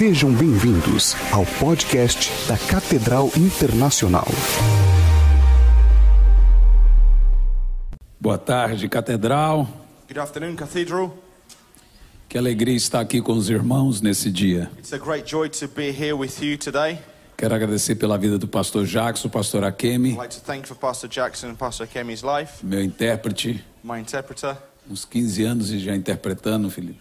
Sejam bem-vindos ao podcast da Catedral Internacional. Boa tarde, Catedral. Good afternoon, Cathedral. Que alegria estar aqui com os irmãos nesse dia. It's a great joy to be here with you today. Quero agradecer pela vida do pastor Jackson, pastor Akemi, I'd like to thank for Pastor Jackson and Pastor Kemi's life, meu intérprete, my interpreter. uns 15 anos e já interpretando, Felipe.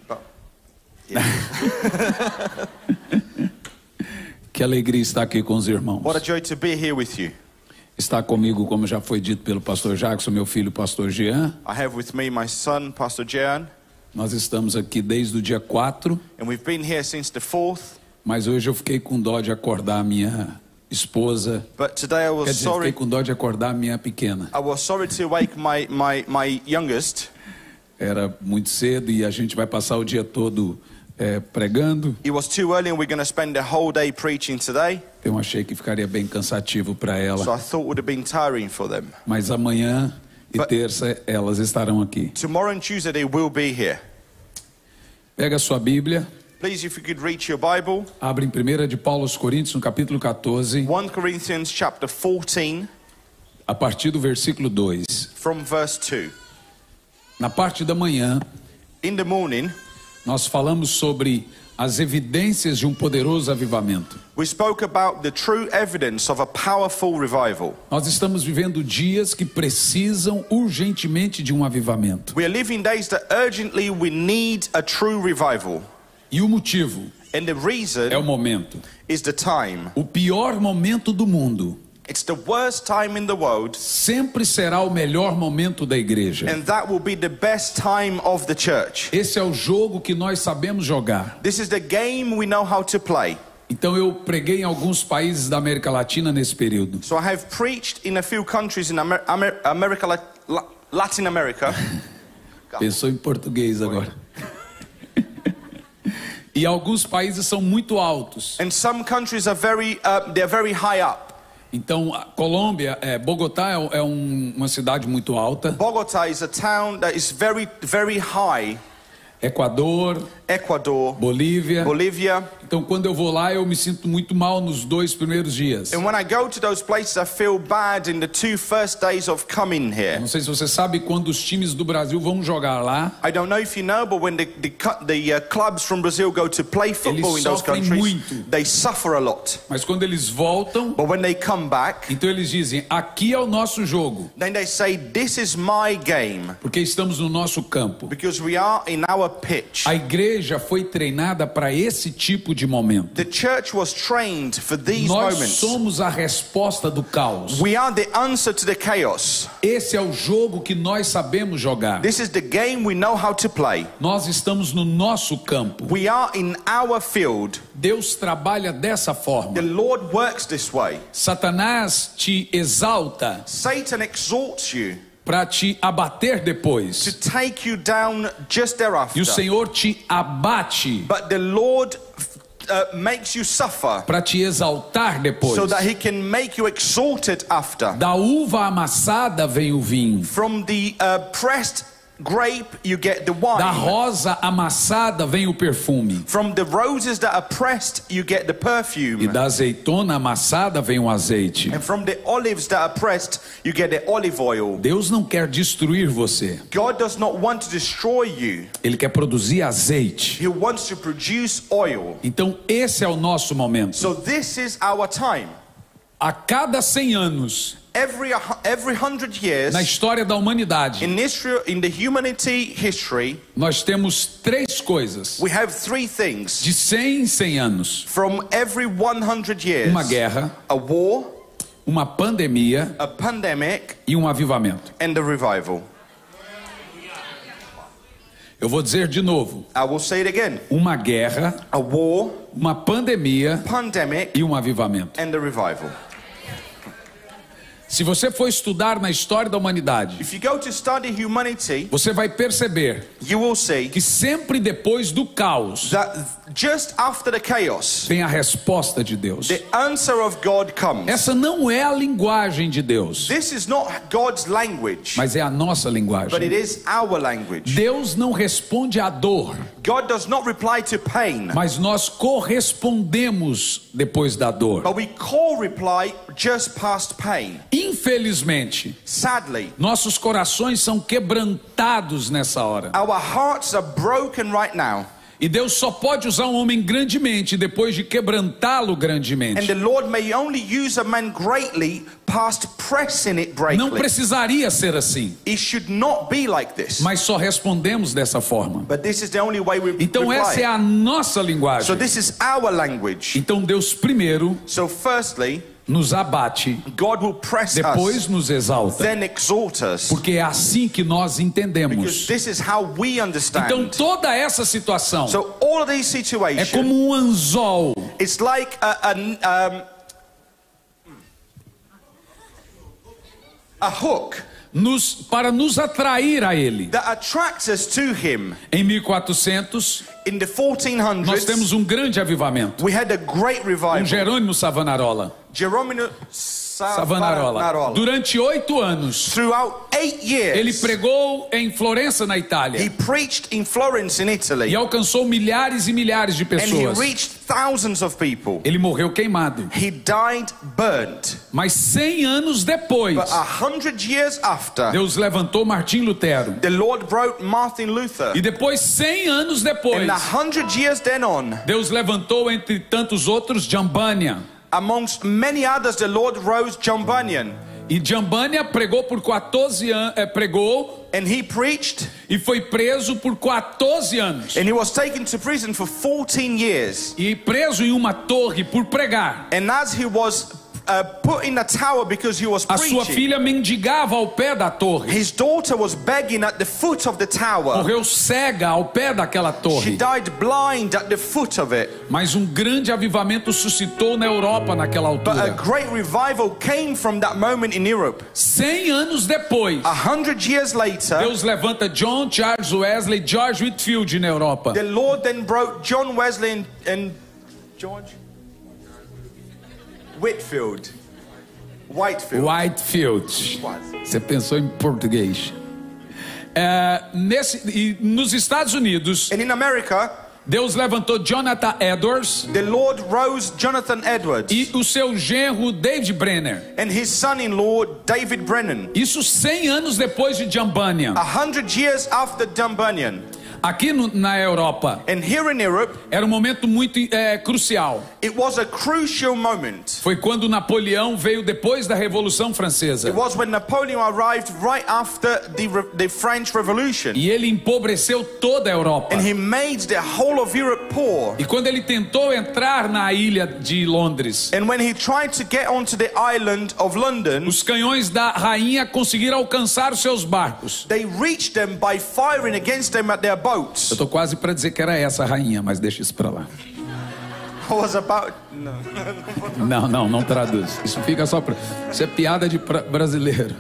Que alegria estar aqui com os irmãos. What a joy to be here with you. Está comigo, como já foi dito pelo pastor Jackson, meu filho, pastor Jean. I have with me my son, Pastor Jean, Nós estamos aqui desde o dia 4, and we've been here since the 4th. mas hoje eu fiquei com dó de acordar a minha esposa. But today I Quer was dizer, fiquei sorry. com dó de acordar a minha pequena. I was sorry to wake my youngest. Era muito cedo e a gente vai passar o dia todo pregando. It was too early, and we're going to spend the whole day preaching today. Eu achei que ficaria bem cansativo para ela. So I thought it would have been tiring for them. Mas amanhã e But- terça elas estarão aqui. Tomorrow and Tuesday they will be here. Pega a sua Bíblia, Please, if you could reach your Bible, abre em 1 de Paulo aos Coríntios, no capítulo 14, 1 Corinthians chapter 14 a partir do versículo 2. from verse 2. Na parte da manhã, In the morning, nós falamos sobre as evidências de um poderoso avivamento. we spoke about the true evidence of a powerful revival. Nós estamos vivendo dias que precisam urgentemente de um avivamento. We are living days that urgently we need a true revival. E o motivo And the é o reason momento. is the time. O pior momento do mundo It's the worst time in the world, sempre será o melhor momento da igreja. and that will be the best time of the church. Esse é o jogo que nós sabemos jogar. This is the game we know how to play. Então eu preguei em alguns países da América Latina nesse período. So I have preached in a few countries in Latin America. Pensou em português agora. E alguns países são muito altos. And some countries are they're very high up. Então a Colômbia, Bogotá é uma cidade muito alta. Bogota is a town that is very, very high. Equador, Ecuador, Bolívia. Bolivia. Então quando eu vou lá eu me sinto muito mal nos 2 primeiros dias. And when I go to those places, I feel bad in the 2 first days of coming here. Não sei se você sabe, quando os times do Brasil vão jogar lá, I don't know if you know, but when the clubs from Brazil go to play football in those sofrem countries, muito. they suffer a lot. mas quando eles voltam, But when they come back, então eles dizem, aqui é o nosso jogo, then they say, this is my game, porque estamos no nosso campo. because we are in our pitch. A igreja foi treinada para esse tipo de momento. The church was trained for these Nós moments. somos a resposta do caos. We are the answer to the chaos. Esse é o jogo que nós sabemos jogar. This is the game we know how to play. Nós estamos no nosso campo. We are in our field. Deus trabalha dessa forma. The Lord works this way. Satanás te exalta Satan exalts you para te abater to depois. take you down just thereafter. E o Senhor te abate But the Lord makes you suffer para te exaltar depois. so that he can make you exalted after. Da uva amassada vem o vinho. From the pressed grape you get the Da wine. rosa amassada vem o perfume. From the roses that are pressed you get the E perfume. da azeitona amassada vem o azeite. And from the olives that are pressed you get the olive oil. Deus não quer destruir você. God does not want to destroy you. Ele quer produzir azeite. He wants to produce oil. Então esse é o nosso momento. So this is our time. A cada 100 anos Every 100 years na história da humanidade, in Israel, in the humanity history, nós temos 3 coisas. we have 3 things. De 100 em 100 anos. From every 100 years, Uma guerra, a war, uma pandemia a pandemic, e um avivamento. and a revival. Eu vou dizer de novo. I will say it again. Uma guerra, A war, uma pandemia pandemic, e um avivamento. and a revival. Se você for estudar na história da humanidade, If you go to study humanity, você vai perceber you will see que sempre depois do caos, that just after the chaos, vem a resposta de Deus. the answer of God comes. Essa não é a linguagem de Deus, This is not God's language, mas é a nossa but it linguagem. is our language. Deus não responde à dor, God does not reply to pain, mas nós correspondemos depois da dor. but we reply just past pain. Infelizmente, Sadly, nossos corações são quebrantados nessa hora. our hearts are broken right now, E Deus só pode usar um homem grandemente depois de quebrantá-lo and grandemente. the Lord may only use a man greatly past pressing it Não greatly. precisaria ser assim, It should not be like this, mas só respondemos dessa forma. but this is the only way we Então essa é reply. a nossa So linguagem. this is our language. Então Deus primeiro So firstly, nos abate, God will press depois us, nos exalta, then exalt us, porque é assim que nós because entendemos. this is how we Então understand. toda essa situação So all of these é situations, como um anzol it's like a hook para nos atrair a Ele. that attracts us to Him. Em 1400 In the nós 1400s, temos um grande avivamento. we had a great revival. Jerônimo Savonarola. Jerônimo Savonarola. Savonarola. Durante 8 anos, Throughout 8 ele years, pregou em Florença, na he Itália, preached in Florence in e Italy, alcançou milhares e milhares de and he pessoas. reached thousands of people. Ele morreu queimado. He died burnt. Mas 100 anos depois, But 100 years after, Deus levantou Martim Lutero. the Lord brought Martin Luther. E depois, 100 anos depois, And 100 years then on, Deus levantou, entre tantos outros, John Bunyan. amongst many others, the Lord rose John Bunyan. E John Bunyan pregou por 14 anos, pregou And he preached, e foi preso por 14 anos. and he was taken to prison for 14 years. E preso em uma torre por pregar. And as he was put in a tower because he was A sua preaching, filha mendigava ao pé da torre. his daughter was begging at the foot of the tower. Morreu cega ao pé daquela She torre. died blind at the foot of it. Mas um grande avivamento suscitou na Europa naquela But a altura. great revival came from that moment in Europe. 100 anos depois, 100 years later, Deus levanta John, Charles Wesley, George Whitefield na Europa. the Lord then brought John Wesley and George Whitefield. Whitefield. Você pensou em português. E nos Estados Unidos, And in America, Deus levantou Jonathan Edwards the Lord rose Jonathan Edwards e o seu genro David Brenner. and his son-in-law David Brennan. Isso 100 anos depois de John Bunyan. 100 years after John Bunyan. Aqui na Europa, And here in Europe, era um momento muito crucial. it was a crucial moment. Foi quando Napoleão veio depois da Revolução Francesa. It was when Napoleon arrived right after the French Revolution. E ele empobreceu toda a Europa. And he made the whole of Europe poor. E quando ele tentou entrar na ilha de Londres, And when he tried to get onto the island of London, os canhões da rainha conseguiram alcançar os seus barcos. they reached them by firing against them at their boats. Eu tô quase para dizer que era essa a rainha, mas deixa isso para lá. I was about... No. Não traduz. Isso fica só para... Isso é piada de brasileiro.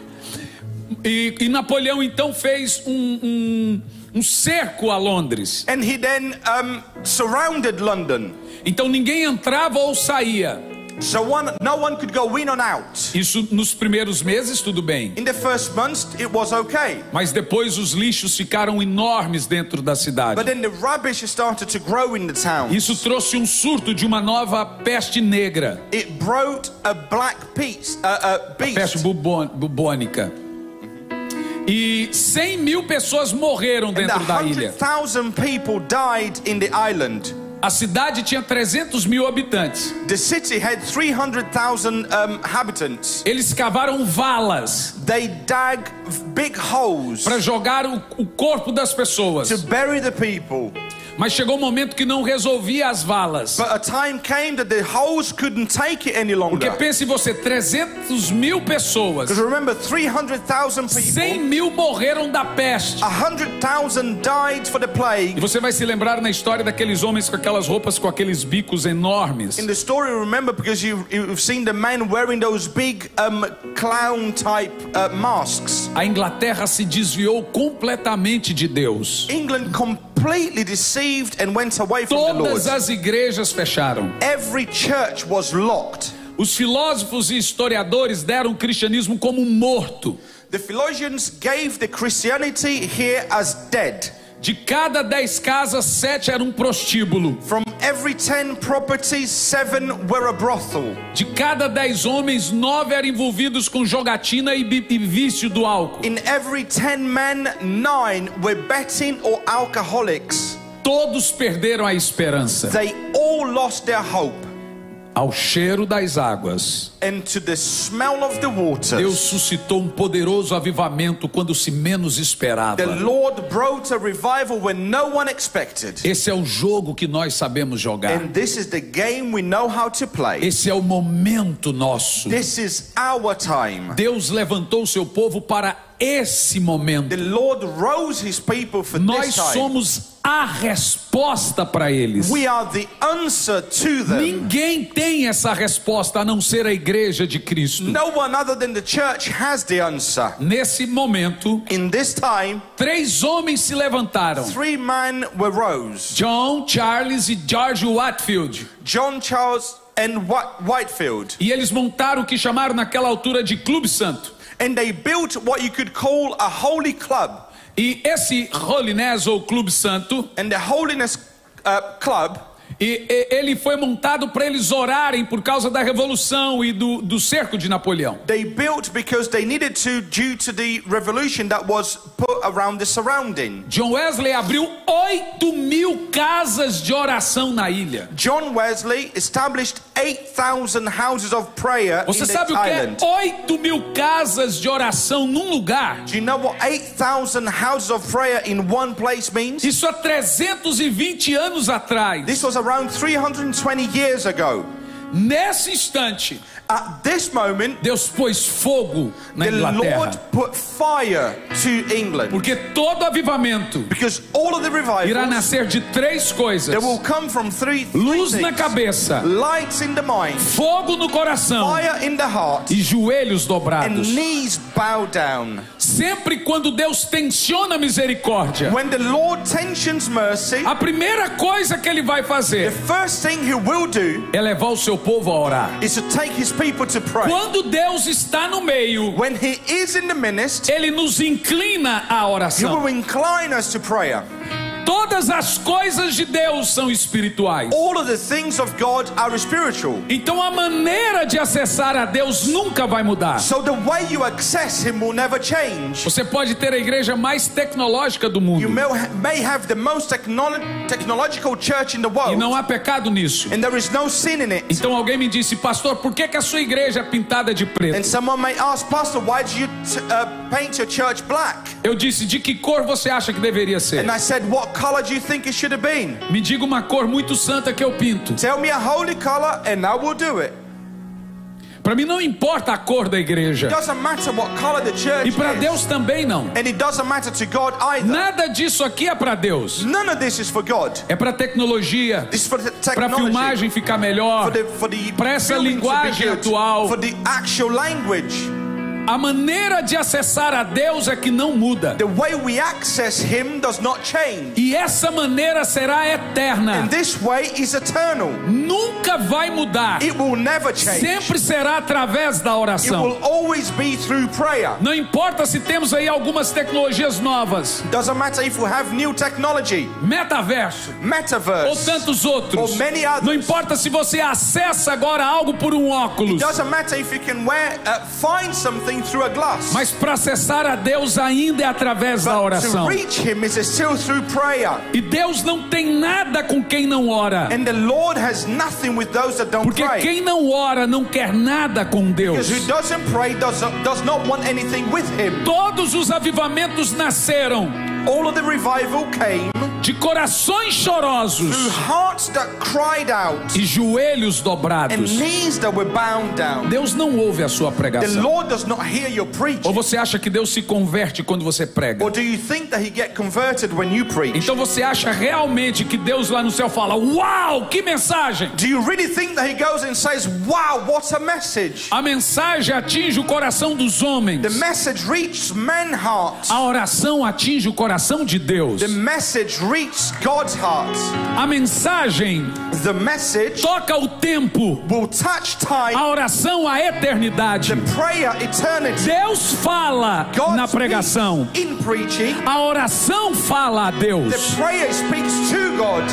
E Napoleão então fez um cerco a Londres. And he then surrounded London. Então ninguém entrava ou saía. So no one could go in or out. Isso nos primeiros meses tudo bem. In the first months, it was okay. Mas depois os lixos ficaram enormes dentro da cidade. But then the rubbish started to grow in the town. Isso trouxe um surto de uma nova peste negra. It brought a black beast. Peste bubônica. E 100 mil pessoas morreram And dentro da ilha. 100,000 people died in the island. A cidade tinha 300 mil habitantes. The city had 300,000 inhabitants. Eles cavaram valas They dug big holes para jogar o corpo das pessoas. to bury the people. Mas chegou um momento que não resolvia as valas. But a time came that the holes couldn't take it any Porque longer. pense você, 300 mil pessoas, Because remember, 300,000 100 people, mil morreram da peste. 100,000 died for the E plague. você vai se lembrar na história daqueles homens com aquelas roupas com aqueles bicos enormes. In the story, remember, because you've seen the men wearing those big clown type masks. A Inglaterra se desviou completamente de Deus. England completely completely deceived and went away from the Lord. Todas as igrejas fecharam. Every church was locked. Os filósofos e historiadores deram o cristianismo como morto. The theologians gave the Christianity here as dead. De cada 10 casas, 7 eram um prostíbulo. From every 10 properties, 7 were a brothel. De cada 10 homens, 9 eram envolvidos com jogatina e vício do álcool. In every 10 men, 9 were betting or alcoholics. Todos perderam a esperança. They all lost their hope. Ao cheiro das águas, And to the smell of the Deus waters, suscitou um poderoso avivamento quando se menos esperava. the Lord brought a revival when no one expected. Esse é o jogo que nós sabemos jogar. And this is the game we know how to play. Esse é o momento nosso. This is our time. Deus levantou o seu povo para esse momento. The Lord rose his people for Nós this time. somos a resposta para eles. We are the answer to them. Ninguém tem essa resposta a não ser a igreja de Cristo. No one other than the church has the answer. Nesse momento, In this time, 3 homens se levantaram: 3 men were rose. John, Charles e George Whitefield. John, Charles and Whitefield. E eles montaram o que chamaram naquela altura de Clube Santo. And they built what you could call a holy club. E esse Holiness ou Clube Santo, And the holiness club, ele foi montado para eles orarem por causa da revolução e do cerco de Napoleão. they built because they needed to due to the revolution that was put around the surrounding. John Wesley abriu 8.000 casas de oração na ilha. John Wesley established 8,000 houses of prayer Você in the sabe o que é island. 8.000 casas de oração num lugar? Do you know what 8,000 houses of prayer in one place means? Isso há 320 anos atrás. This was around 320 years ago. Nesse instante, At this moment, Deus pôs fogo na the Lord Inglaterra. put fire to England. Porque todo avivamento Because all of the irá revivals, nascer de 3 coisas: they will come from three luz na things. cabeça, Lights in the mind, fogo no coração fire in the heart, e joelhos and dobrados. knees bow down. Sempre quando Deus tensiona a misericórdia, When the Lord tensions mercy, a primeira coisa que ele vai the fazer first thing he will do é levar o seu povo a orar. is to take his people to pray. Quando Deus está no meio, When he is in the midst, ele nos inclina à he oração. will incline us to prayer. Todas as coisas de Deus são espirituais. All of the things of God are spiritual. Então a maneira de acessar a Deus nunca vai mudar. So the way you access him will never change. Você pode ter a igreja mais tecnológica do You mundo may have the most technological church in the e world, não há pecado nisso. and there is no sin in it. Então alguém me disse: pastor, por que a sua igreja é pintada de And preto? someone may ask, Pastor, why do you paint your church black? Eu disse: de que cor você acha que deveria ser? And I said, what color do you think it should have been? Me diga uma cor muito santa que eu pinto. Tell me a holy color and I will do it. Para mim não importa a cor da igreja. It doesn't matter what color the church E para is. Deus também não. And it doesn't matter to God either. Nada disso aqui é para Deus. None of this is for God. É para tecnologia, This is for the para technology. filmagem ficar melhor, For the para essa filming to be linguagem good, atual. for the actual language. A maneira de acessar a Deus é que não muda. The way we access him does not change. E essa maneira será eterna. And this way is eternal. Nunca vai mudar. It will never change. Sempre será através da It oração. will always be through prayer. Não importa se temos aí algumas tecnologias novas, Doesn't matter if we have new technology, metaverso ou metaverse, tantos outros. or many others. Não importa se você acessa agora algo por um óculos, Doesn't matter if you can find something through a glass. mas para acessar a Deus ainda é através da But to oração. reach him is still through prayer. E Deus não tem nada com quem não ora. And the Lord has nothing with those that don't Porque pray. quem não ora não quer nada com Deus. Because who doesn't pray does not want anything with him. Todos os avivamentos nasceram All of the revival came de corações chorosos through hearts that cried out e joelhos and dobrados. knees that were bound down. Deus não ouve a sua The pregação. Lord does not hear your preaching. Ou você acha que Deus se converte quando você prega? Or do you think that he get converted when you preach? Então você acha realmente que Deus lá no céu fala: uau, que mensagem! Do you really think that he goes and says, wow, what a message? A mensagem atinge o coração dos homens. The message reaches men's hearts. A oração atinge o coração de Deus. The message reach God's heart. A mensagem The message toca o tempo, will touch time, a oração a eternidade. the prayer eternity. Deus fala God na pregação, speaks in preaching. a oração fala a Deus. The prayer speaks to God.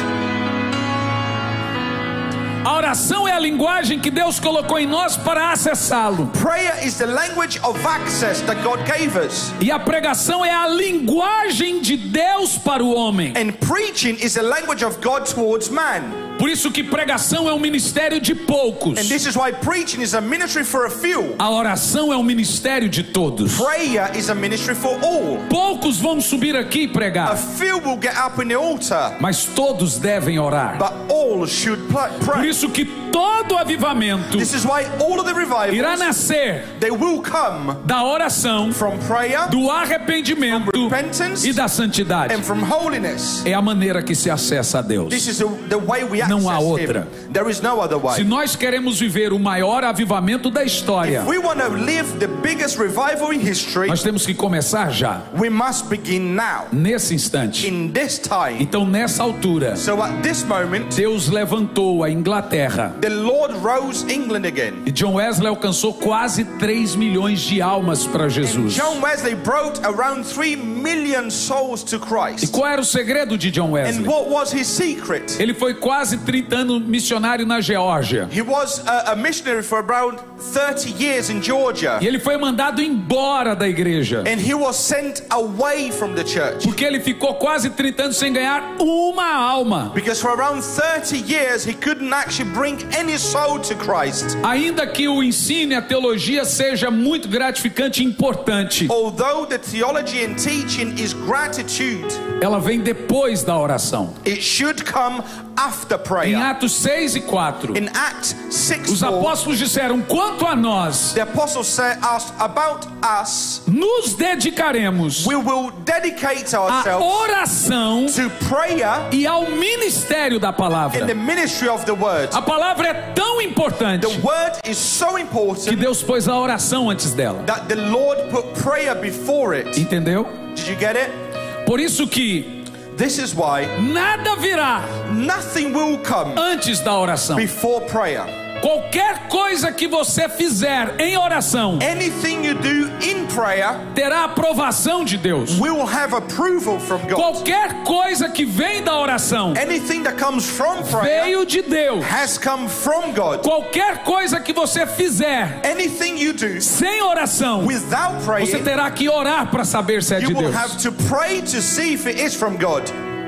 A oração é a linguagem que Deus colocou em nós para acessá-lo. Prayer is the language of access that God gave us. E a pregação é a linguagem de Deus para o homem. And preaching is the language of God towards man. Por isso que pregação é um ministério de poucos. And this is why preaching is a ministry for a few. A oração é um ministério de todos. Prayer is a ministry for all. Poucos vão subir aqui e A pregar, few will get up in the altar, mas todos devem orar. but all should Por pray. isso que todo avivamento This is why all of the irá revivals, nascer they will come da oração, from prayer do arrependimento From repentance e da santidade. and from holiness. É a maneira que se acessa a Deus. This is the way we Não há access outra. Him. There is no other Se way. nós queremos viver o maior avivamento da história, If we want to live the biggest revival in history, nós temos que começar já, we must begin now, nesse instante. in this time. Então, nessa altura, So at this moment, Deus levantou a Inglaterra. the Lord rose England again. E John Wesley alcançou quase 3 milhões de almas para Jesus. John Wesley brought around 3 million souls to E Christ. qual era o segredo de John And Wesley? what was his secret? Ele foi quase 30 anos missionário na Geórgia. He was a missionary for around 30 years in Georgia. E ele foi mandado embora da igreja. And he was sent away from the church. Porque ele ficou quase 30 anos sem ganhar uma alma. Because for around 30 years he couldn't actually bring any soul to Christ. Ainda que o ensino e a teologia seja muito gratificante e importante, Although the theology and teaching is gratitude, ela vem depois da oração. it should come after Em prayer. Atos 6 e 4, In Acts 6, os 4, apóstolos disseram: quanto a nós, the apostles said about us, nos dedicaremos we will dedicate à ourselves oração to prayer e ao ministério da in palavra. the ministry of the word. A palavra é tão importante The word is so que important Deus pôs a oração antes dela. that the Lord put prayer before it. Entendeu? Did you get it? Por isso que This is why nada virá nothing will come antes da oração. before prayer. Qualquer coisa que você fizer em oração Anything you do in prayer terá aprovação de Deus. will have approval from God. Qualquer coisa que vem da oração Anything that comes from prayer veio de Deus. has come from God. Qualquer coisa que você fizer Anything you do sem oração, without você praying, terá que orar para saber se é de you will Deus. have to pray to see if it is from God.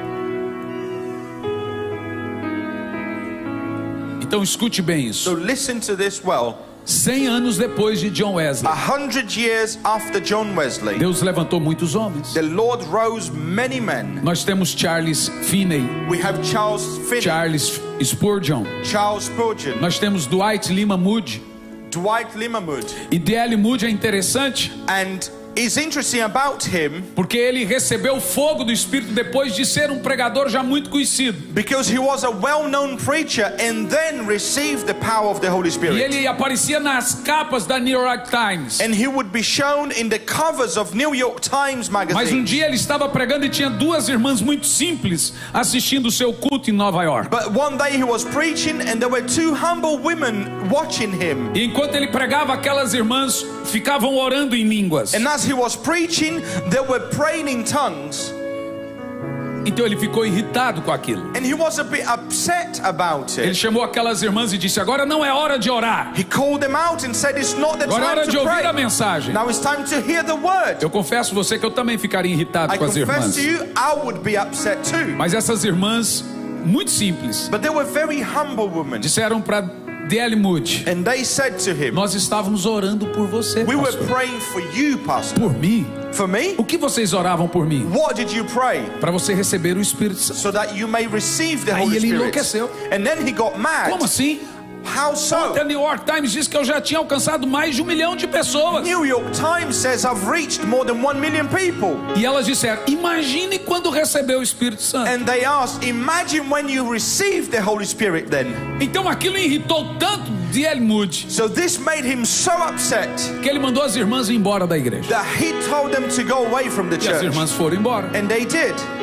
Então escute bem isso. So listen to this well. 100 anos depois de John Wesley, 100 years after John Wesley, Deus levantou muitos homens. the Lord rose many men. Nós temos Charles Finney, We have Charles Finney, Charles Spurgeon, Charles Spurgeon, nós temos Dwight Lima Moody. Dwight Limmerwood. E D.L. Moody é interessante And it's interesting about him porque ele recebeu o fogo do Espírito depois de ser um pregador já muito conhecido. because he was a well-known preacher and then received the power of the Holy E Spirit. ele aparecia nas capas da New York Times. And he would be shown in the covers of New York Times Mas um magazine. dia ele estava pregando e tinha duas irmãs muito simples assistindo o seu culto em Nova York. But one day he was preaching and there were 2 humble women watching him. E enquanto ele pregava, aquelas irmãs ficavam orando em línguas. And as he was preaching, they were praying in tongues. Então ele ficou irritado com aquilo. And he was a bit upset about Ele it. chamou aquelas irmãs e disse: agora não é hora de orar. He called them out and said, it's not the Agora é hora time de to ouvir a pray. mensagem. Now it's time to hear the word. Eu confesso a você que eu também ficaria irritado I com as confess irmãs. to you, I would be upset too. Mas essas irmãs, muito simples, But they were very humble women. disseram para D.L. Moody: And they said to him, nós estávamos orando por você, we were pastor. praying for you, pastor. Por mim? For me? O que vocês oravam por mim? What did you pray? Para você receber o Espírito Santo. So that you may receive the Aí Holy ele Spirit. enlouqueceu. And then he got mad. Como assim? How so? A New York Times diz que eu já tinha alcançado mais de 1 milhão de pessoas. New York Times says I've reached more than 1 million people. E elas disseram: imagine quando recebeu o Espírito Santo. And they asked, imagine when you receive the Holy Spirit then. Então aquilo irritou tanto D.L. Moody So this made him so upset que ele mandou as irmãs ir embora da igreja. that he told them to go away from the E as church. irmãs foram embora. And they did.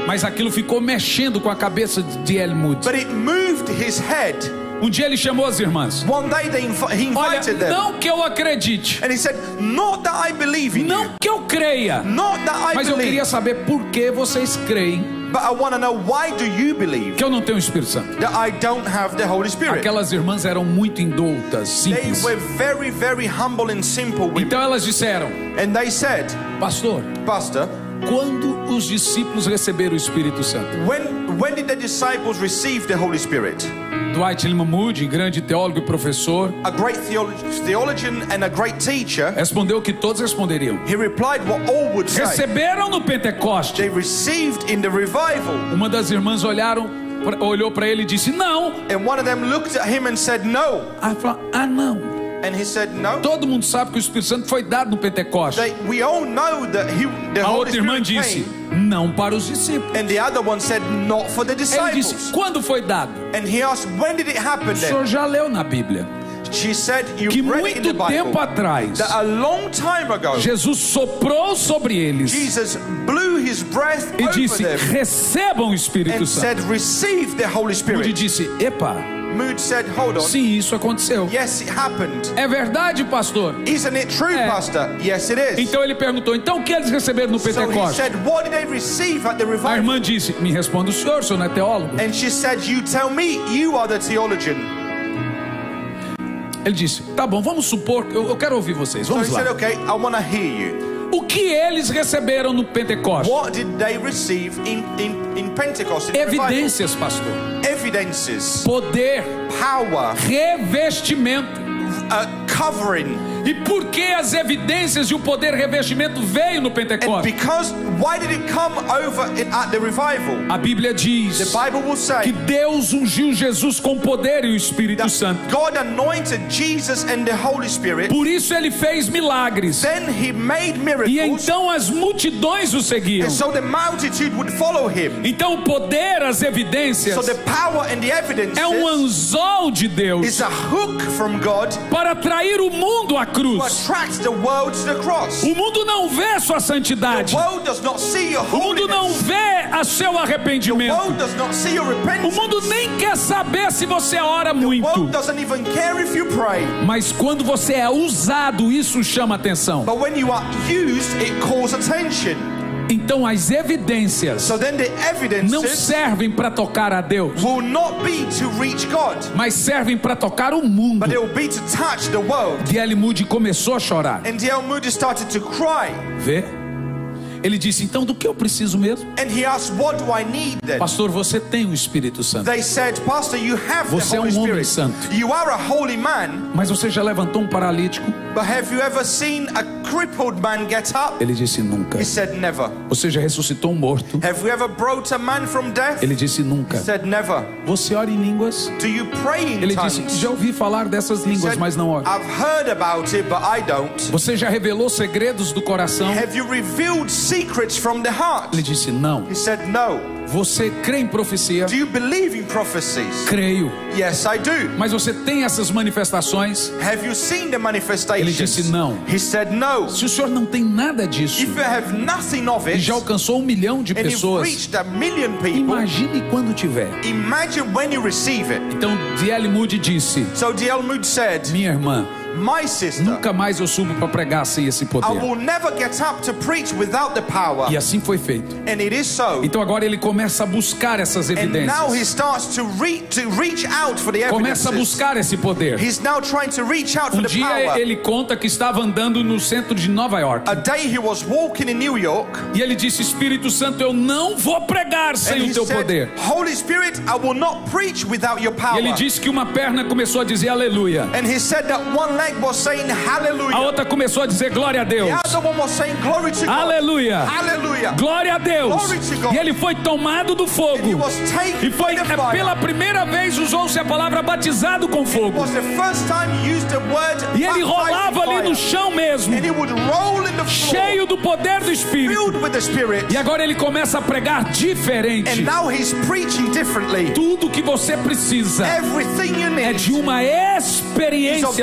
Mas aquilo ficou mexendo com a cabeça de D.L. Moody. but it moved his head. Um dia ele chamou as irmãs. One day he Olha, invited them, não que eu acredite, and he said, "Not that I believe in you, não que eu creia, not that I mas eu queria believe, saber por que vocês creem but I want to know why do you believe que eu não tenho o Espírito Santo." that I don't have the Holy Spirit?" Aquelas irmãs eram muito indoutas, They simples. were very, very humble and simple women, Então elas disseram: and they said, pastor, "Pastor, quando os discípulos receberam o Espírito Santo? when did the disciples receive the Holy Spirit?" Dwight Lyman Moody, grande teólogo e professor, A great theologian and a great teacher, respondeu que todos responderiam: he replied what all would say. receberam no Pentecoste. They received in the revival. Uma das irmãs olhou para ele e disse: não. And one of them looked at him and said, "No." Aí falou: ah, não. And he said, "No." Todo mundo sabe que o Espírito Santo foi dado no Pentecoste. We all know that the A Holy outra irmã Spirit disse: came. não para os discípulos. And the other one said, "Not for the Ele disciples." disse: quando foi dado? And he asked, "When did it happen O then?" senhor já leu na Bíblia She said, "You que read it in the muito tempo Bible atrás that a long time ago Jesus soprou sobre eles Jesus blew his breath e over disse: them recebam o Espírito and Santo. said, 'Receive the Holy Moody Spirit.'" disse: epa, Mood said, "Hold on. sim, isso aconteceu. Yes, it happened. É verdade, pastor? Isn't it true, É. Pastor?" "Yes, it is." Então ele perguntou: então o que eles receberam no So he Pentecoste? said, "What did they receive at the A revival?" irmã disse: me responda o senhor não é teólogo. And she said, "You tell me, you are the theologian." Ele disse: tá bom, vamos supor, eu quero ouvir vocês, So he vamos said, lá. "Okay, I want to hear you. O que eles receberam no Pentecoste? What did they receive in Pentecost? In the revival?" Evidências, pastor. Evidences, Poder, power, revestimento. covering. E por que as evidências e o poder revestimento veio no And Pentecoste? because, why did it come over at the revival? A Bíblia The diz Bible will que say Deus ungiu Jesus com poder e o Espírito that Santo. God anointed Jesus and the Holy Spirit. Por isso ele fez milagres. Then he made miracles. E então as multidões o seguiam. And so the multitude would follow him. Então o poder, as evidências, So the power and the evidences é um anzol de Deus is a hook from God para atrair o mundo à to cruz. attract the world to the cross. O mundo não vê sua santidade. The world does not see your O mundo não holiness. vê a seu The arrependimento. world does not see your O repentance. mundo nem quer saber se você ora The muito. world doesn't even care if you pray. Mas quando você é usado, isso chama atenção. But when you are used, it calls attention. Então as evidências So then the não evidences servem para tocar a Deus, will not be to reach God, mas servem para tocar o mundo. but it will be to touch the world. D.L. Moody começou a chorar. And D.L. Moody started to cry. Vê? Ele disse: então do que eu preciso mesmo? And he asked, "What do I need then?" Pastor, você tem o Espírito Santo, They said, "Pastor, you have the Você é Holy um homem Spirit. santo. You are a holy man, mas você já levantou um paralítico? but have you ever seen a crippled man get up?" Ele disse: nunca. He said, "Never." Você já ressuscitou um morto? Have you ever brought a man from death? Ele disse: nunca. He said, "Never." Você ora em línguas? Do you pray in Ele disse: tongues? já ouvi falar dessas He línguas, said, mas não oro. "I've heard about it, but I don't." Você já revelou segredos do coração? Have you revealed secrets from the heart? Ele disse: não. He said, "No." Você crê em profecia? Do you believe in prophecies? Creio. Yes, I do. Mas você tem essas manifestações? Have you seen the manifestations? Ele disse, não. He said, "No." Se o senhor não tem nada disso If you have nothing of e it, já alcançou 1 milhão de and you've pessoas, reached 1 million people, imagine quando tiver. imagine when you receive it. Então D.L. Moody disse: So D.L. Moody said, minha irmã, "My sister, nunca mais eu subo para pregar sem esse I poder. will never get up to preach without the power." E assim foi feito. And it is so. Então agora ele começa a buscar essas And now he evidências. starts to reach out for the Começa a evidences. buscar esse poder. He's now trying to reach out for the Dia power. ele conta que estava andando no centro de Nova York. A day he was walking in New York, E ele disse: Espírito Santo, eu não vou pregar and sem he o teu said, poder. "Holy Spirit, I will not preach without your E power." ele disse que uma perna começou a dizer aleluia. And he said that one leg was saying hallelujah. A outra começou a dizer glória a Deus. The other one was saying glory to God. Aleluia. Hallelujah. Glória a Deus. Glory to God. E ele foi tomado do And he fogo. was taken E foi by the fire. pela primeira vez usou-se a palavra batizado com It fogo. was the first time he used the word E ele baptized in rolava ali fire. no chão mesmo, And he would roll in the floor, cheio do poder do Espírito. filled with the Spirit. E agora ele começa a pregar diferente. And now he's preaching differently. Tudo que você precisa Everything you é need de uma experiência do fogo.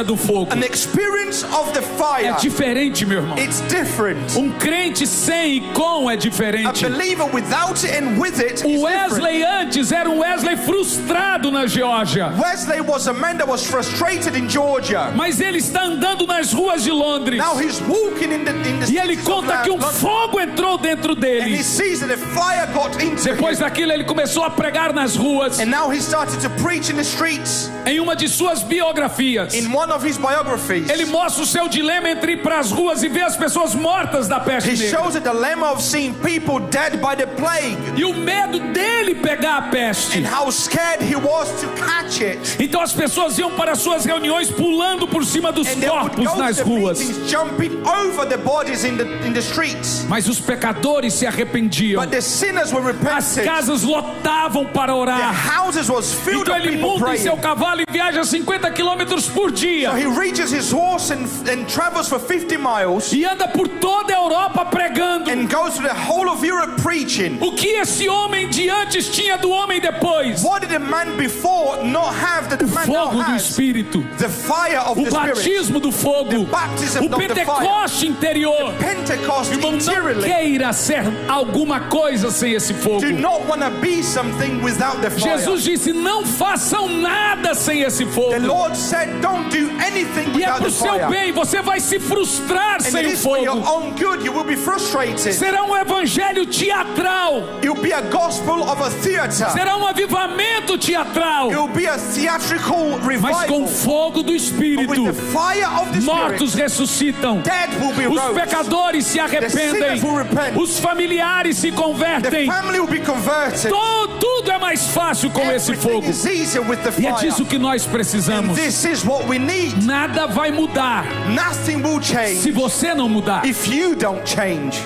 fogo. An experience of the fire. É diferente, meu irmão. It's different. Um crente sem e com é A diferente. believer without it and with it O is Wesley different. antes era um Wesley frustrado na Geórgia. Wesley was a man that was frustrated in Georgia. Mas ele está andando nas ruas de Londres. Now he's walking in the E ele streets of conta que um London, fogo entrou dentro and dele. he sees that the fire got into Depois him. daquilo ele começou a pregar nas ruas. And now he started to preach in the streets. Em uma de suas biografias, In one of his biographies, ele mostra o seu dilema entre ir para as ruas e ver as pessoas mortas da peste he negra. shows a dilemma of seeing people dead by the plague E o medo dele pegar a peste. and how scared he was to catch it. Então as pessoas iam para suas reuniões pulando por cima dos And they would corpos go nas to the ruas. meetings jumping over the bodies in the streets. Mas os pecadores se arrependiam. But the sinners were As repentant. casas lotavam para The orar. houses was filled Então with ele people monta em seu praying. cavalo e viaja 50 quilômetros por dia. So he reaches his horse and travels for 50 miles E anda por toda a Europa pregando. and goes to the whole of Europe preaching. O que esse homem de antes tinha do homem depois? What did the man before not have that the O man now fogo do has? Espírito. The fire of O the Spirit. batismo do fogo. Baptism O of the fire. Pentecoste interior. Pentecost Irmão, não interiorly. queira ser alguma coisa sem esse fogo. Do not want to be something without the fire. Jesus disse: não façam nada sem esse fogo. The Lord said, don't do anything E é without pro the seu fire. bem, você vai se frustrar And it sem o is for your fogo. own good. You will be frustrated. Será um evangelho teatral. It will be a gospel of a theater. Será um avivamento teatral. It will be a theatrical Mas com o revival. fogo do But Espírito, with the fire of the mortos Spirit, ressuscitam. dead will be Os rose. pecadores se arrependem. sinners will repent. Os familiares se The convertem. family will be converted. Tudo é mais fácil com esse Everything fogo. is easier with the E é fire. disso que nós And precisamos. this is what we need. Nada vai mudar Nothing will se change você não mudar. if you don't change.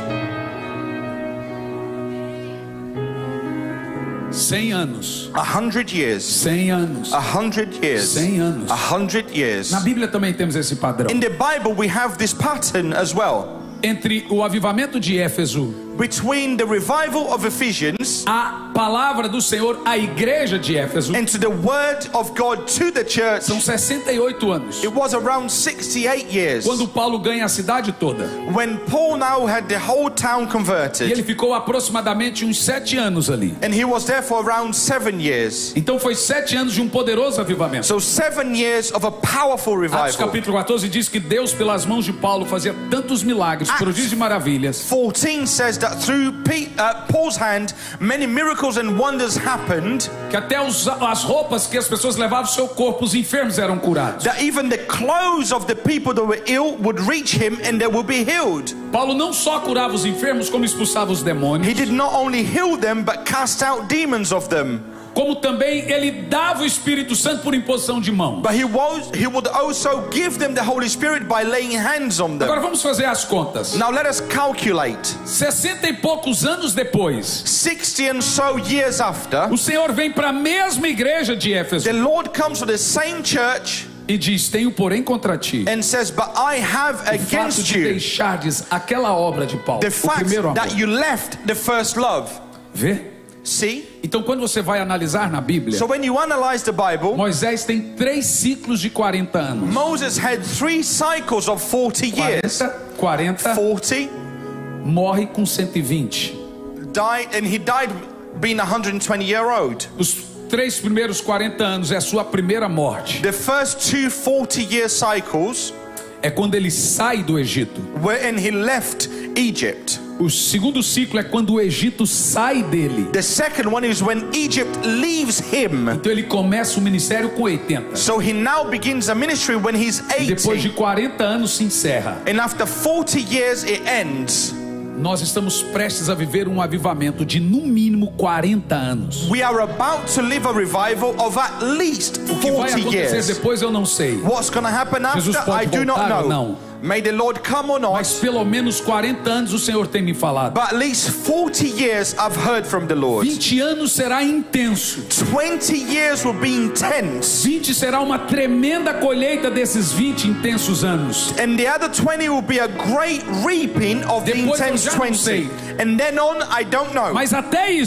100 anos. 100 years. 100 anos. 100 years. 100 anos. 100 years. Na Bíblia também temos esse padrão. In the Bible we have this pattern as well. Entre o avivamento de Éfeso, Between the revival of Ephesians a palavra do Senhor à igreja de Éfeso, and to the word of God to the church, são 68 anos. it was around 68 years. Quando Paulo ganha a cidade toda. When Paul now had the whole town E converted, ele ficou aproximadamente uns 7 anos ali. and he was there for around 7 years. Então foi 7 anos de um poderoso avivamento. So 7 years of a powerful Atos revival. capítulo 14 diz que Deus, pelas mãos de Paulo, fazia tantos milagres, prodígios e maravilhas, 14 says that through Paul's hand many miracles and wonders happened, que até as roupas que as pessoas levavam no seu corpo, os enfermos eram curados. that even the clothes of the people that were ill would reach him and they would be healed. Paulo não só curava os enfermos, como expulsava os demônios, He did not only heal them but cast out demons of them. como também ele dava o Espírito Santo por imposição de mão. But he would also give them the Holy Spirit by laying hands on them. Agora vamos fazer as contas. Now let us calculate. 60 e poucos anos depois, 60 and so years after, o Senhor vem para a mesma igreja de Éfeso the Lord comes to the same church e diz: tenho porém contra ti and says, but I have o fato against de you deixardes aquela obra de Paulo, the o fact primeiro amor. that you left the first love. Vê? See? Então quando você vai analisar na Bíblia, So when you analyze the Bible, Moisés tem 3 ciclos de 40 anos. Moses had 3 cycles of 40 years. 40, 40, morre com 120. died, and he died being 120-year-old. Os 3 primeiros 40 anos é a sua primeira morte. The first 2 40-year cycles É quando ele sai do Egito. were when he left Egypt. O segundo ciclo é quando o Egito sai dele. The second one is when Egypt leaves him. Então ele começa o ministério com 80. So he now begins a ministry when he's E depois de 80. 40 anos se encerra. And after 40 years it ends. Nós estamos prestes a viver um avivamento de no mínimo 40 anos. We are about to live a revival of at least O que vai 40 acontecer years. depois eu não sei. What's going to happen Jesus after? pode I do not voltar ou know. não. May the Lord come or Mas not. pelo menos 40 anos o Senhor tem me falado. But at least 40 years I've heard from the Lord. 20 anos será intenso. 20 years will be intense. 20 será uma tremenda colheita desses 20 intensos anos. And the other 20 will be a great reaping of the Depois eu intense já não sei. 20. And then on, I don't know. Mas até isso,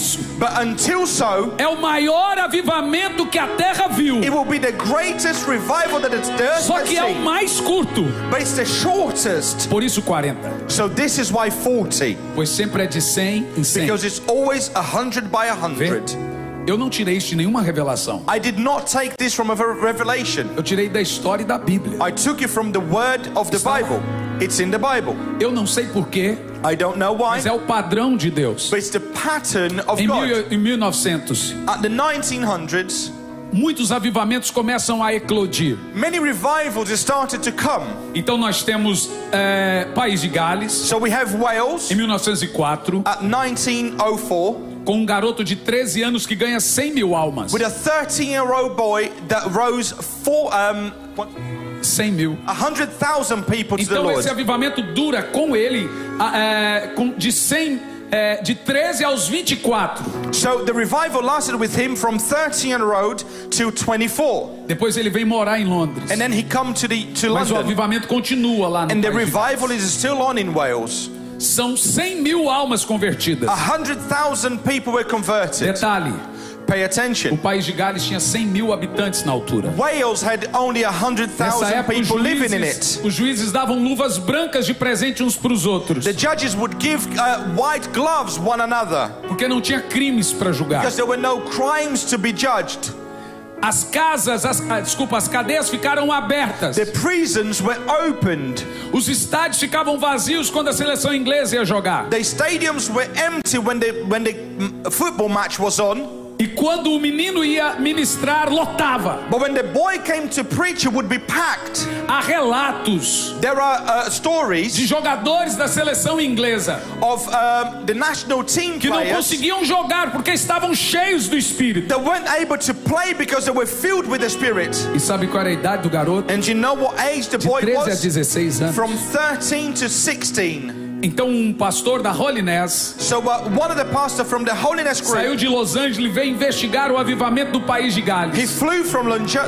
But until so, é o maior avivamento que a terra viu. it will be the greatest revival that the earth Só has que é o seen. mais curto. But it's the shortest. Por isso 40. So this is why 40. Pois sempre é de 100 em 100. Because it's always 100 by Vê? 100. Eu não tirei isso de nenhuma revelação. I did not take this from a revelation. Eu tirei da história e da Bíblia. I took it from the word of the Bible. It's in the Bible. Eu não sei porquê, I don't know why, mas é o padrão de Deus. but it's the pattern of Em God. 1900, At the 1900s, muitos avivamentos começam a eclodir. many revivals started to come. Então nós temos País de Gales, So we have Wales em 1904, at 1904 com um garoto de 13 anos que ganha 100 mil almas. with a 13-year-old boy that rose 100 mil. 100,000 people to the Então Lord. esse avivamento dura com ele de 13 aos 24. So the revival lasted with him from 13-year-old to 24. Depois ele vem morar em Londres. And then he come to Mas o London. avivamento continua lá no And the País de Gales. revival is still on in Wales. São 100 mil almas convertidas. 100,000 people were converted. Detalhe, Pay o attention. País de Gales tinha 100 mil habitantes na altura. Wales had only Nessa 100,000 época people living in it. os juízes davam luvas brancas de presente uns para os outros. The judges would give white gloves one another Porque não tinha crimes para julgar. because there were no crimes to be judged. As cadeias ficaram abertas. The prisons were opened. Os estádios ficavam vazios quando a seleção inglesa ia jogar. The stadiums were empty when the football match was on. E quando o menino ia ministrar, lotava. But when the boy came to preach, it would be packed. Há relatos There are stories de jogadores da seleção inglesa of the national team que não players conseguiam jogar porque estavam cheios do Espírito. that weren't able to play because they were filled with the Spirit. E sabe qual era a idade do garoto? And you know what age the De boy 13 a was? 16 anos. From 13 to 16. Então um pastor da Holiness So one of the pastors from the Holiness saiu group, de Los Angeles e veio investigar o avivamento do País de he Gales. flew from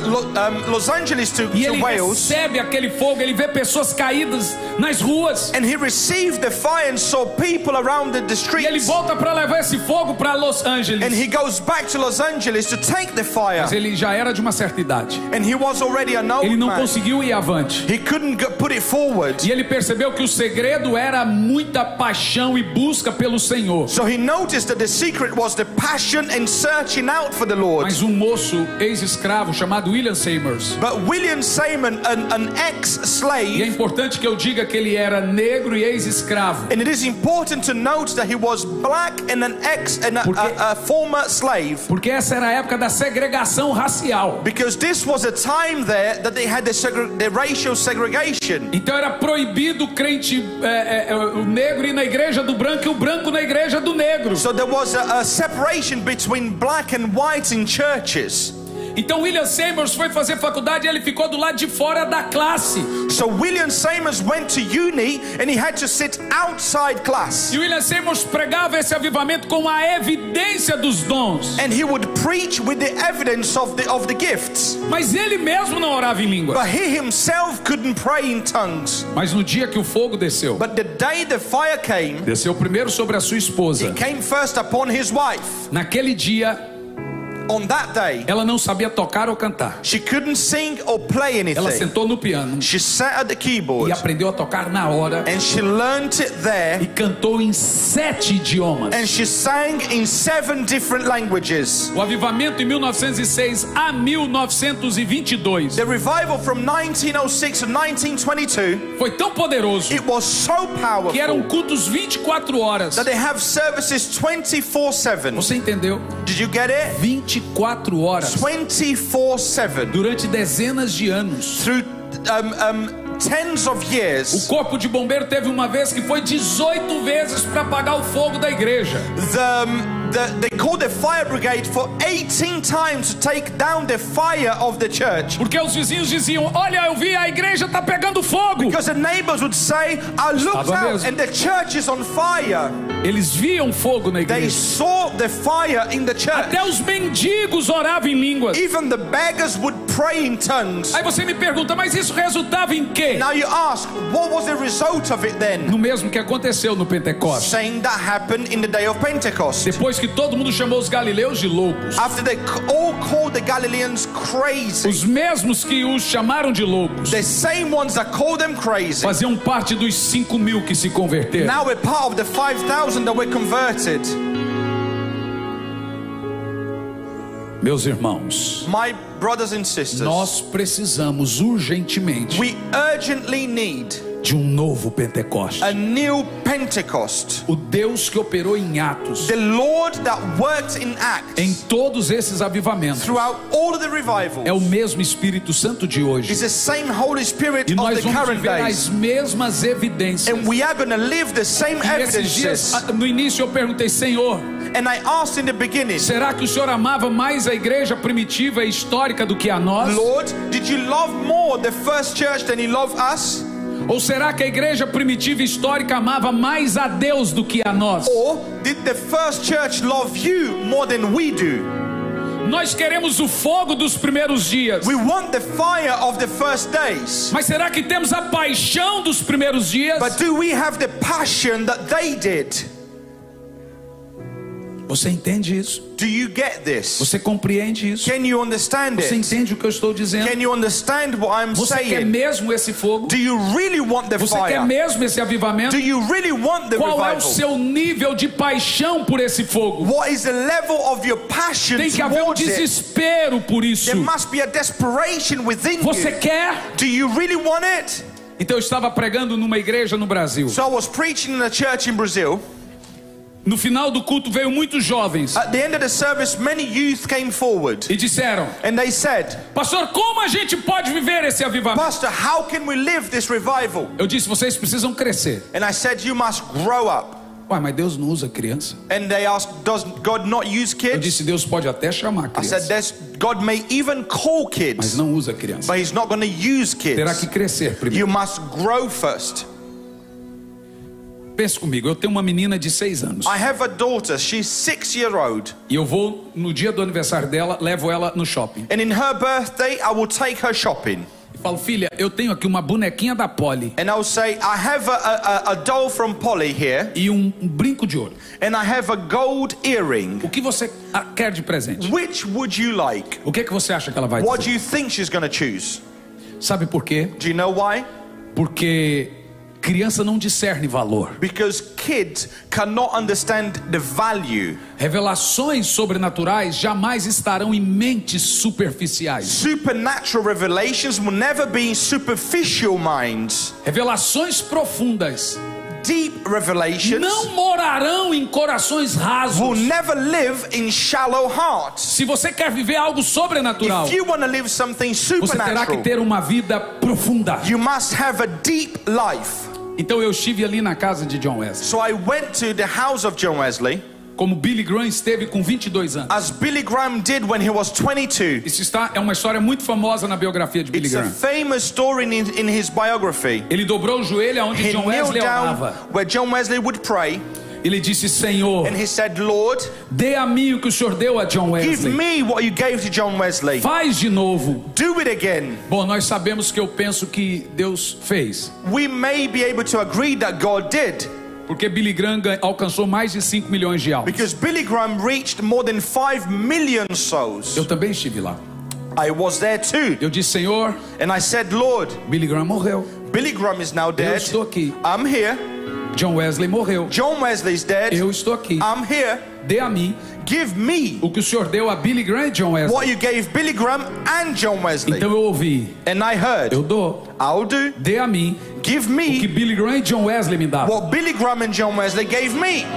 Los Angeles to E ele Wales, recebe aquele fogo, ele vê pessoas caídas nas ruas. and he received the fire and saw people around the E ele streets. volta para levar esse fogo para Los And Angeles. he goes back to Los Angeles to take the fire. Mas ele já era de uma certa idade. And he was already an old Ele não man. conseguiu ir avante. He couldn't put it forward. E ele percebeu que o segredo era muita paixão e busca pelo Senhor. So he noticed that the secret was the passion and searching out for the Lord. Mas um moço ex-escravo chamado William Seymour. But William Simon, an E é ex-slave, importante que eu diga que ele era negro e ex-escravo. and it is important to note that he was black and a former slave, Porque essa era a época da segregação racial. because this was a time there that they had the racial segregation. Então era proibido o crente o negro ir na igreja do branco e o branco na igreja do negro. So there was a separation between black and white in churches. Então William Seymour foi fazer faculdade e ele ficou do lado de fora da classe. So William Seymour went to uni and he had to sit outside class. E William Seymour pregava esse avivamento com a evidência dos dons. And he would preach with the evidence of the gifts. Mas ele mesmo não orava em línguas. But he himself couldn't pray in tongues. Mas no dia que o fogo desceu, But the day the fire came, desceu primeiro sobre a sua esposa. it came first upon his wife. Naquele dia, On that day, ela não sabia tocar ou cantar. she couldn't sing or play Ela anything. sentou no piano She sat at the keyboard e aprendeu a tocar na hora and she learnt it there, e cantou em 7 idiomas. and she sang in 7 different languages. O avivamento em 1906 a 1922 The revival from 1906 to 1922, foi tão poderoso it was so que eram powerful cultos 24 horas. that they have services 24/7. Você entendeu? Did you get it? 24 horas 24/7 durante dezenas de anos. through tens of O years. corpo de bombeiro teve uma vez que foi 18 vezes para apagar o fogo da igreja. They called the fire brigade for 18 times to take down the fire of the church. Porque os vizinhos diziam: olha, eu vi, a igreja está pegando fogo. Because the neighbors would say, I looked Estava out mesmo. and the church is on fire. Eles viam fogo na They igreja. saw the fire in the church. Até os mendigos oravam em línguas. Even the beggars would pray in tongues. Aí você me pergunta: mas isso resultava em quê? Now you ask, what was the result of it then? No mesmo que aconteceu no Pentecostes. Saying that happened in the day of Pentecost. Depois depois que todo mundo chamou os galileus de loucos, after they all called the Galileans crazy, os mesmos que os chamaram de loucos the same ones that called them crazy, faziam parte dos 5.000 que se converteram. now we're part of the 5,000 that were converted. Meus irmãos, My brothers and sisters, nós precisamos urgentemente we urgently need de novo Pentecoste. a new Pentecost. O Deus que operou em Atos, The Lord that worked in em Acts todos esses avivamentos, throughout all of the é o revivals mesmo Espírito Santo de hoje. is the same Holy Spirit E of nós the vamos current viver days. as mesmas evidências. And we are going to live the same E esses dias, evidences. no início eu perguntei, Senhor, And I asked in the beginning, será que o Senhor amava mais a igreja primitiva e histórica do que a nós? Lord, did you love more the first church than you love us? Ou será que a igreja primitiva e histórica amava mais a Deus do que a nós? Or did the first church love you more than we do? Nós queremos o fogo dos primeiros dias. We want the fire of the first days. Mas será que temos a paixão dos primeiros dias? But do we have the passion that they did? Você entende isso? Do you get this? Você compreende isso? Can you understand Você it? entende o que eu estou dizendo? Can you understand what I'm Você quer saying? mesmo esse fogo? Do you really want the Você quer fire? mesmo esse avivamento? Do you really want the Qual é o revival? seu nível de paixão por esse fogo? What is the level of your passion Tem que haver um towards it? desespero por isso. There must be a desperation within Você you. quer? Do you really want it? Então eu estava pregando numa igreja no Brasil. So I was preaching in a church in Brazil. No final do culto veio muitos jovens At the end of the service, many youth came forward e disseram: and they said, Pastor, como a gente pode viver esse avivamento? Pastor, how can we live this revival? Eu disse: vocês precisam crescer. And I said, you must grow up. Ué, mas Deus não usa criança. And they asked, does God not use Eu kids? disse: Deus pode até chamar I said, criança, God may even call mas kids, não usa criança. but He's not going to use Terá kids. que crescer primeiro. You must grow first. Pense comigo, eu tenho uma menina de 6 anos. I have a daughter, she's 6-year-old. E eu vou, no dia do aniversário dela, levo ela no shopping. And in her birthday, I will take her shopping. E falo: filha, eu tenho aqui uma bonequinha da Polly And I'll say, I have a doll from Polly here. e um brinco de ouro. And I have a gold earring. O que você quer de presente? Which would you like? O que é que você acha que ela vai What do dizer? you think she's going to choose? Sabe por quê? Do you know why? Porque criança não discerne valor. Because kids cannot understand the value. Revelações sobrenaturais jamais estarão em mentes superficiais. Supernatural revelations will never be in superficial minds. Revelações profundas Deep revelations não morarão em corações will rasos. never live in shallow hearts. Se você quer viver algo sobrenatural, If you want to live something você terá que supernatural, ter uma vida profunda. you must have a deep life. Então eu estive ali na casa de John Wesley, So I went to the house of John Wesley, como Billy Graham esteve com 22 anos. as Billy Graham did when he was 22. Isso é uma história muito famosa na biografia de Billy It's a Graham. famous story in his biography. Ele dobrou o joelho aonde He John kneeled Wesley down orava. where John Wesley would pray, Ele disse: Senhor, and he said, Lord, dê a mim o que o Senhor deu a John give Wesley. me what you gave to John Wesley. Faz de novo. Do it again. Bom, nós sabemos que eu penso que Deus fez, We may be able to agree that God did, porque Billy Graham alcançou mais de 5 milhões de almas. because Billy Graham reached more than 5 million souls. Eu também estive lá. I was there too. Eu disse: Senhor, And I said, Lord, Billy Graham morreu. Billy Graham is now Eu dead. estou aqui. I'm here. John Wesley morreu. John Wesley's dead. Eu estou aqui. I'm here. Dê a mim Give me o que o Senhor deu a Billy Graham e John Wesley. what you gave Billy Graham and John Wesley. Então eu ouvi: And I heard, eu dou. I'll do. Dê a mim Give o que me Billy Graham e John Wesley me davam. what Billy Graham and John Wesley gave me.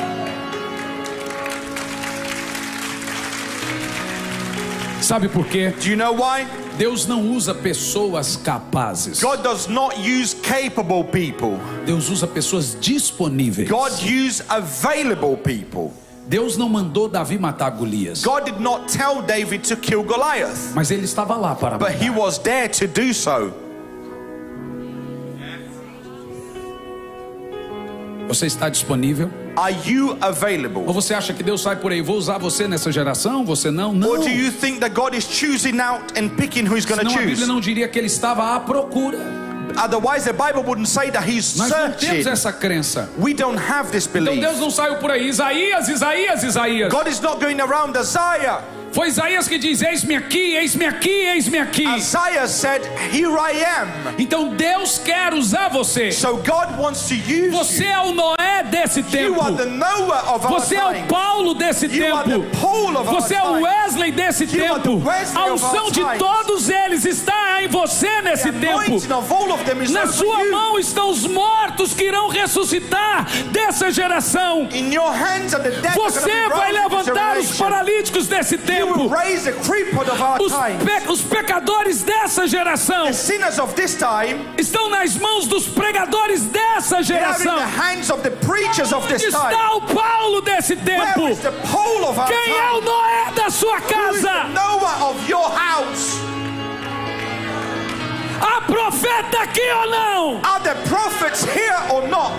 Sabe por quê? Do you know why? Deus não usa pessoas capazes. God does not use capable people. Deus usa pessoas disponíveis. God uses available people. Deus não mandou Davi matar Golias, God did not tell David to kill Goliath, mas ele estava lá para but he matar. was there to do so. Você está disponível? Are you Ou available? você acha que Deus sai por aí: vou usar você nessa geração, você não? Não. Or do you think that God is choosing out and picking who he's going to Senão a Bíblia choose? não diria que ele estava à procura. Otherwise the Bible wouldn't say that he's Nós não temos searching. essa crença. We don't have this Então belief. Deus não saiu por aí, Isaías. God is not going around Isaiah. Foi Isaías que diz: eis-me aqui, eis-me aqui, eis-me aqui. Isaiah said, here I am. Então Deus quer usar você. So God wants to use Você you. é o Noé desse tempo. You are the Noah of our Você é o time. Paulo desse You are tempo. the Paul of our Você é o time. Wesley desse You are the tempo. Wesley A of unção our de times. todos eles está em você nesse The tempo. anointing of all of them is Na over sua you. mão estão os mortos que irão ressuscitar dessa geração. In your hands are the dead. Você vai levantar os paralíticos desse You tempo. will raise the crippled of our time. Os pecadores dessa geração The sinners of this time, estão nas mãos dos pregadores dessa they are in geração. the hands of the preachers of Onde this time. está o Paulo desse tempo? Where is the Paul of our Quem é o time? Noé da sua Who is the casa? Noah of your house? Há profeta aqui ou não? Are the prophets here or not?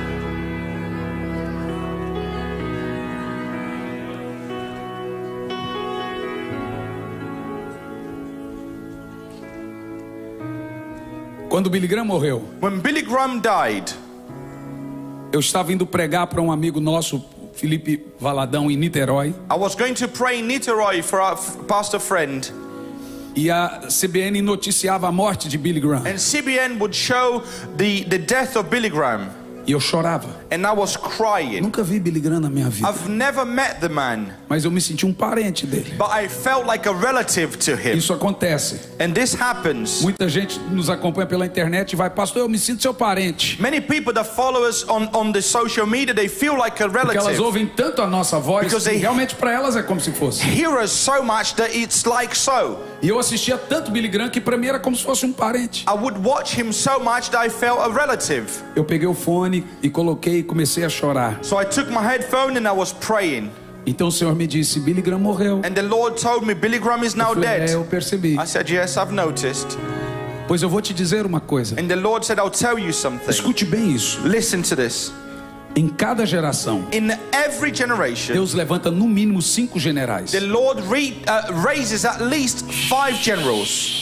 Quando Billy Graham morreu, When Billy Graham died, eu estava indo pregar para um amigo nosso, Felipe Valadão, em Niterói. I was going to pray in Niterói for our pastor friend, E a CBN noticiava a morte de Billy Graham. and CBN would show the death of Billy Graham, E eu chorava. and I was crying. Nunca vi Billy Graham na minha vida, I've never met the man, mas eu me senti um parente dele. but I felt like a relative to him. Isso acontece. And this happens. Muita gente nos acompanha pela internet e vai: pastor, eu me sinto seu parente. Many people that follow us on the social media, they feel like a Porque elas relative. ouvem tanto a nossa voz Because que they- realmente para elas é como se fosse. Hear us so much that it's like so. E eu assistia tanto Billy Graham que para mim era como se fosse um parente. I would watch him so much that I felt a relative. Eu peguei o fone e coloquei e comecei a chorar. So I took my headphone and I was praying. Então o Senhor me disse: Billy Graham morreu. And the Lord told me, Billy Graham is now Eu falei: dead. eu percebi. I said, yes, I've noticed. Pois eu vou te dizer uma coisa. And the Lord said, I'll tell you something. Escute bem isso. Listen to this. Em cada geração, In every generation, Deus levanta no mínimo 5 generais. the Lord raises at least 5 generals.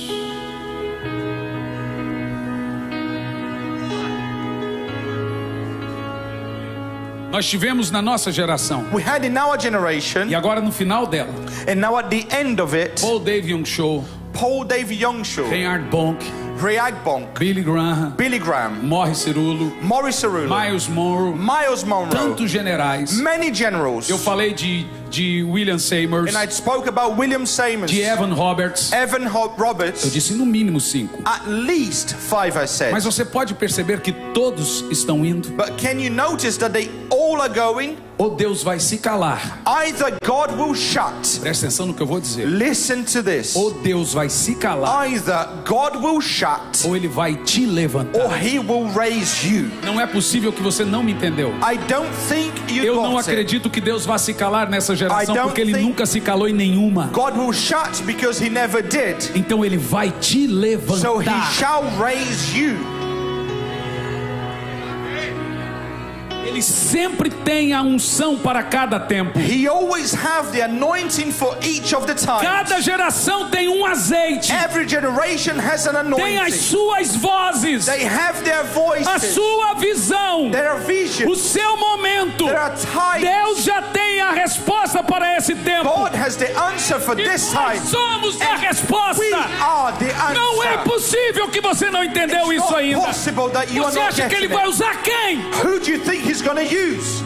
Nós tivemos na nossa geração, We had in our generation, e agora no final dela, and now at the end of it, Paul Dave Young Show, Paul David Youngshaw, Reinhard Bonk, Rayag Bonk, Billy Graham, Billy Graham, Morris Cirulo, Maurice Cerullo, Miles Monroe, Miles Monroe, tantos generais. many generals. Eu falei de William Seymour, And I spoke about William Seymour, de Evan Roberts. Evan Eu Roberts, disse no mínimo 5. at least 5 I said. Mas você pode perceber que todos estão indo, But can you notice that they all are going? ou Deus vai se calar. Either God will shut. Presta atenção no que eu vou dizer. Listen to this. Ou Deus vai se calar, Either God will shut ou Ele vai te or levantar. He will raise you. Não é possível que você não me entendeu. I don't think you Eu não got it. acredito que Deus vá se calar nessa geração, I don't porque Ele think- nunca se calou em nenhuma. God will shut because He never did. Então Ele vai te So He levantar. shall raise you. Ele sempre tem a unção para cada tempo. He always have the anointing for each of the times. Cada geração tem um azeite, Every generation has an tem as anointing. suas vozes, They have their a voices, sua visão, their o visions. seu momento. There are times. Deus já tem a resposta para esse tempo. God has the answer for E this nós time. somos a resposta. We are the answer. Não é possível que você não entendeu It's isso not ainda. possible that you are Você not acha que Ele getting vai it. usar quem? Who do you think He's going to use?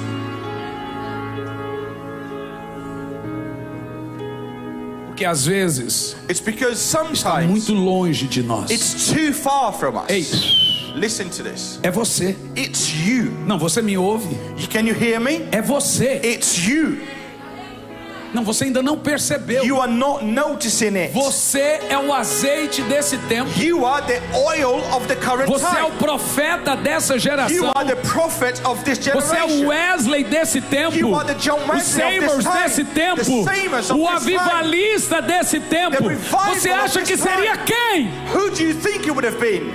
Porque às vezes It's because está muito sometimes longe de nós. it's too far from us. Ei, Listen to this. é você. It's you. Não, você me ouve. Can you hear me? É você. It's you. Não, você ainda não percebeu. You are not noticing it. Você é o azeite desse tempo. You are the oil of the current Você é o time. profeta dessa You geração. are the prophet of this Você é o generation. Wesley desse tempo. You are the John Os Wesley of Seymours this time. desse tempo. The Seymours of O this time. avivalista desse tempo. The revival Você of acha this que seria time. quem? Who do you think it would have been?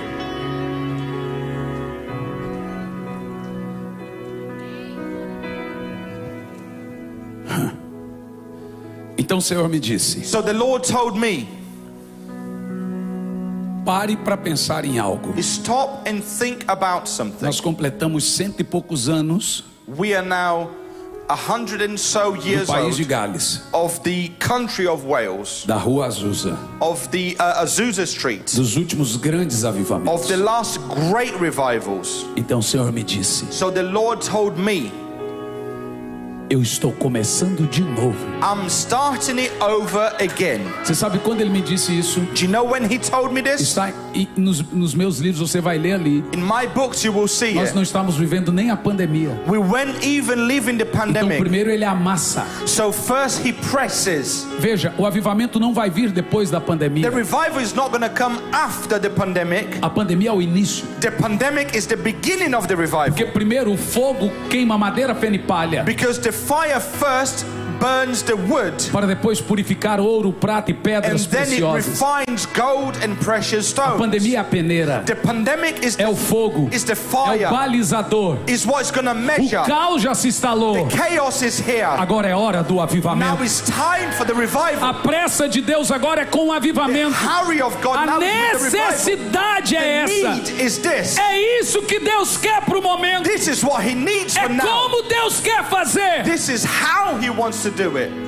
Então o Senhor me disse: So the Lord told me, Pare para pensar em algo. Stop and think about something. Nós completamos 100 e poucos anos We are now 100 and so no years país de old Gales, of the country of Wales, da Rua Azusa, of the Azusa Street, dos últimos grandes of avivamentos. the last great revivals. Então o Senhor me disse: So the Lord told me, eu estou começando de novo. I'm starting it over again. Você sabe quando ele me disse isso? Do you know when he told me this? Está nos meus livros, você vai ler ali. In my books you will see Nós it. não estamos vivendo nem a pandemia. We weren't even living the Então pandemic. primeiro ele amassa. So first he presses. Veja, o avivamento não vai vir depois da The pandemia. revival is not going to come after the pandemic. A pandemia é o início. The pandemic is the beginning of the revival. Porque primeiro o fogo queima madeira, feno e palha, Because the fire first burns the wood, para depois purificar ouro, prata e and pedras then it preciosas. refines gold and precious A stones. pandemia é a peneira, The pandemic é o fogo, is the é o fire, balizador. is what's going to O measure. caos já se instalou. Chaos is here. Agora é hora do Now avivamento. it's time for the revival. A pressa de Deus agora é com o avivamento. Hurry of God A now is with the revival. necessidade é The essa. need is this. É isso que Deus quer para o momento. This is what he needs É for now. como Deus quer fazer. This is how he wants to do it.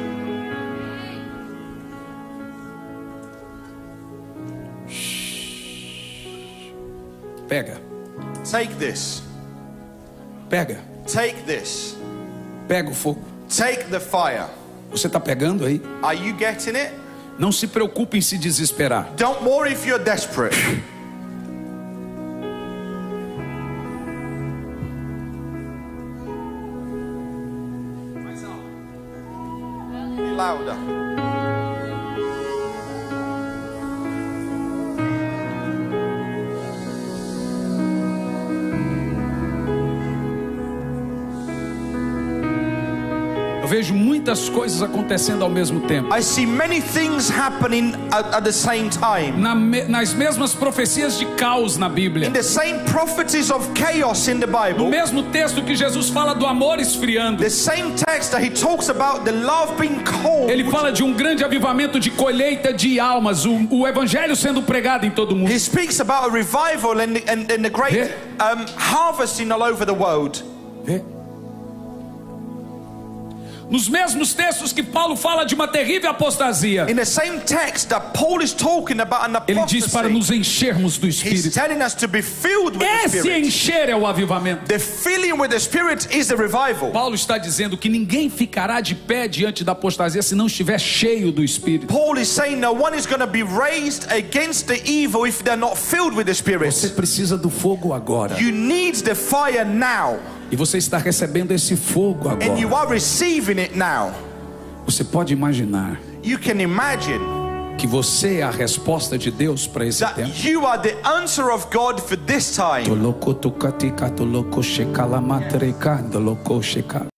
Pega, Take this. pega, Take this. pega o fogo. Take the fire. Você está pegando aí? Are you getting it? Não se preocupe em se desesperar. Don't worry if you're desperate. Be louder. Eu vejo muitas coisas acontecendo ao mesmo tempo. I see many things happening at the same time. Nas mesmas profecias de caos na Bíblia. In the same prophecies of chaos in the No Bible, mesmo texto que Jesus fala do amor esfriando. the same text that he talks about the love being cold, Ele fala de um grande avivamento de colheita de almas, o evangelho sendo pregado em todo mundo. he speaks about a revival and the great harvesting all over the world. Vê? Nos mesmos textos que Paulo fala de uma terrível apostasia, In the same text that Paul is talking about an ele diz para apostasy, nos enchermos do he's Espírito. telling us to be filled with the Esse Spirit. encher é o avivamento. The filling with the Spirit is the revival. Paulo está dizendo que ninguém ficará de pé diante da apostasia se não estiver cheio do Espírito. Paul is saying no one is going to be raised against the evil if they're not filled with the Spirit. Você precisa do fogo agora. You need the fire now, E você está recebendo esse fogo and you agora. are receiving it now. Você pode imaginar You can imagine que você é a resposta de Deus para esse that tempo. you are the answer of God for this time.